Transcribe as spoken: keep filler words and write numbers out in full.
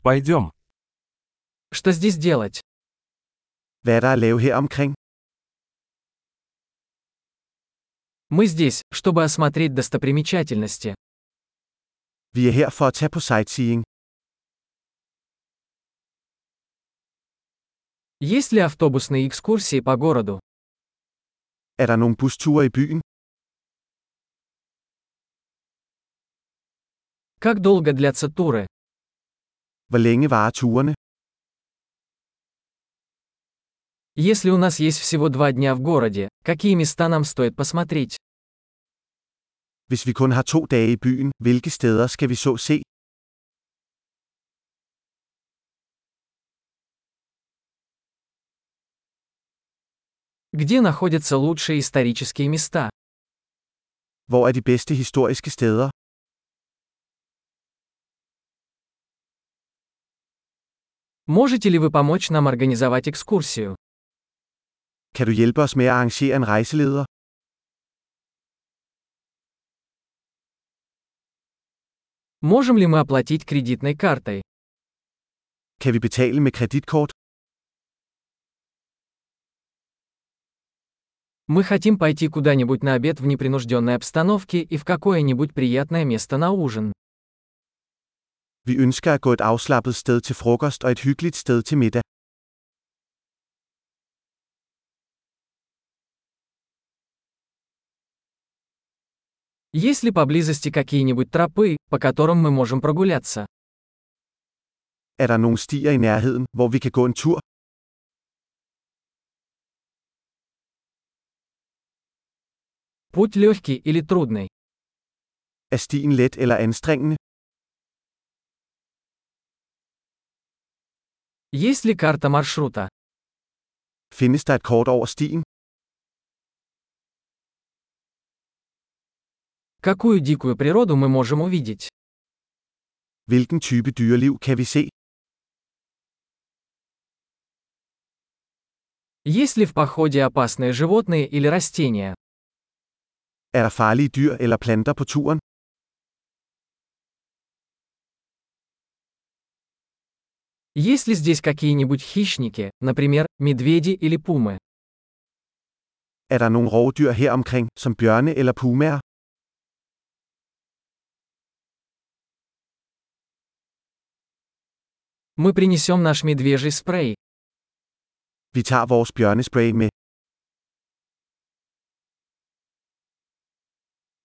Пойдем. Что здесь делать? Hvad er der at lave her omkring? Мы здесь, чтобы осмотреть достопримечательности. Vi er her for at tage på sightseeing. Есть ли автобусные экскурсии по городу? Er der nogle busture i byen? Как долго длятся туры? Hvor længe varer turene? Если у нас есть всего два дня в городе, какие места нам стоит посмотреть? Hvis vi kun har to dage i byen, hvilke steder skal vi så se? Где находятся лучшие исторические места? Hvor er de bedste historiske steder? Можете ли вы помочь нам организовать экскурсию? Kan du hjælpe os med at arrangere en rejseleder? Можем ли мы оплатить кредитной картой? Kan vi betale med kreditkort? Мы хотим пойти куда-нибудь на обед в непринужденной обстановке и в какое-нибудь приятное место на ужин. Vi ønsker at gå et afslappet sted til frokost og et hyggeligt sted til middag. Есть ли поблизости какие-нибудь тропы, по которым мы можем прогуляться? Er der nogle stier i nærheden, hvor vi kan gå en tur? Путь легкий или трудный? Er stien let eller anstrengende? Есть ли карта маршрута? Findes der et kort over stien? Какую дикую природу мы можем увидеть? Hvilken type dyreliv kan vi se? Есть ли в походе опасные животные или растения? Er der farlige dyr eller planter på turen? Есть ли здесь какие-нибудь хищники, например, медведи или пумы? Er der nogle rovdyr her omkring, som bjørne eller pumaer? Мы принесем наш медвежий спрей. Vi tager vores bjørnespray med.